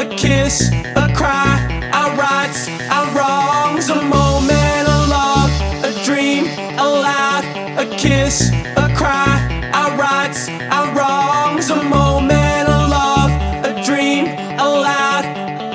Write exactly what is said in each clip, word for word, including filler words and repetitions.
a kiss, a cry, our rights, our wrongs, a moment of love, a dream, a loud, a kiss, a cry, our rights, our wrongs, a moment of love, a dream, a loud.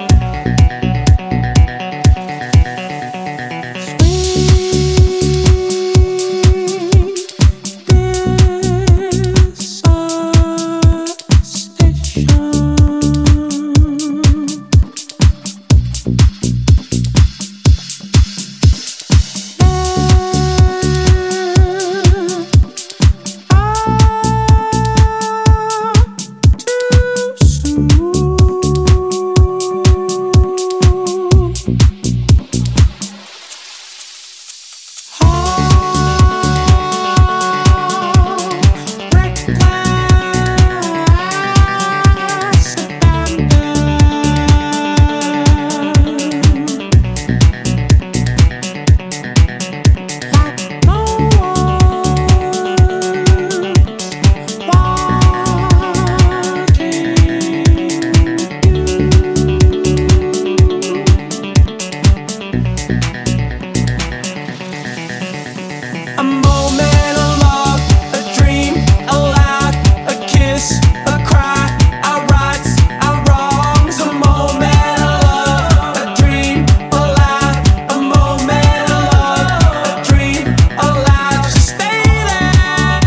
A moment of love, a dream, a loud, a kiss, a cry, our rights, our wrongs, a moment of love, a dream, a loud, a moment of love, a dream, a loud, just stay there.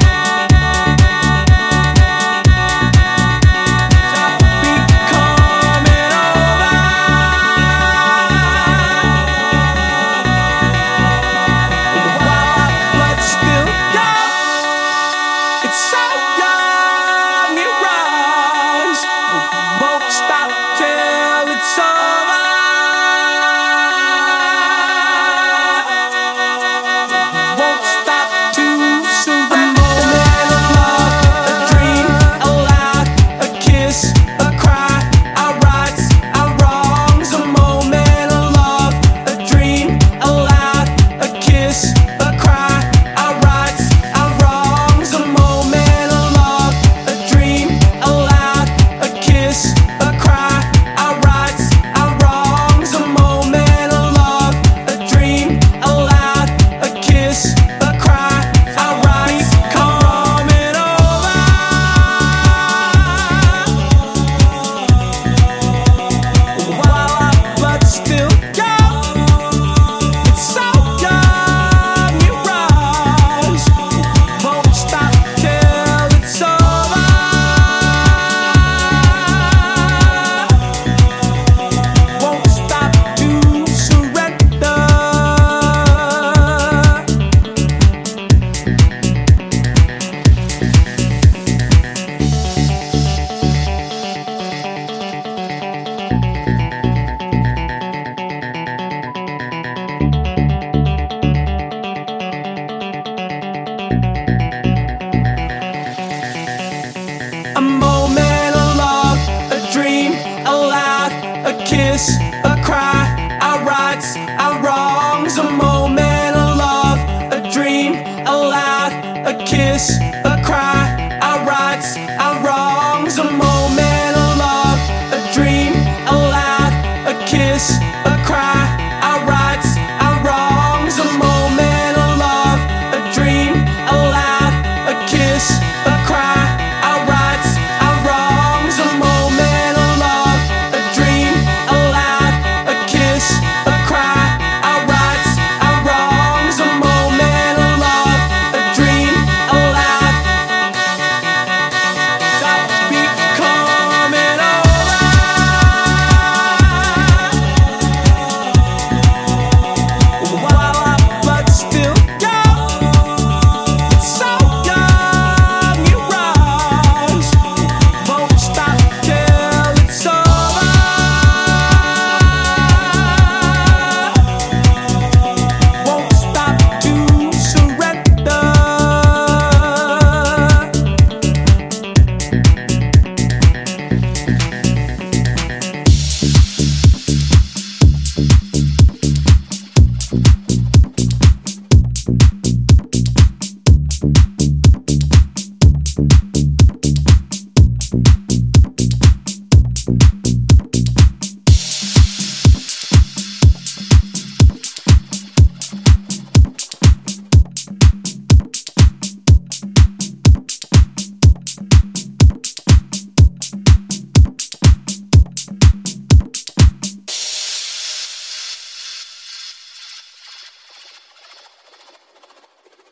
Be coming over. But still young, it's so young, it runs, won't stop till it's over. Won't stop to surrender. A moment of love, a dream, a loud, a kiss, a cry, our rights, our wrongs, a moment of love, a dream, a loud, a kiss, a cry, our rights, our wrongs, a moment of love, a dream, a loud, a kiss, a cry, our rights, our wrongs, a moment of love, a dream, a loud, a kiss, a cry, our rights, coming over. But still young, it's so young, it runs, won't stop till it's over. Won't stop to surrender. A moment of love, a dream, a loud, a kiss,